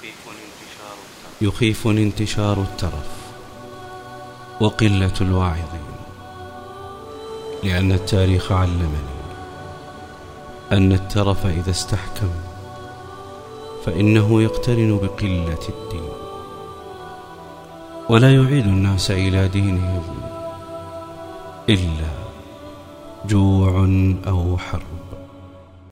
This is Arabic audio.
يخيفني انتشار الترف وقلة الواعظين، لأن التاريخ علمني أن الترف إذا استحكم فإنه يقترن بقلة الدين، ولا يعيد الناس إلى دينهم إلا جوع أو حرب.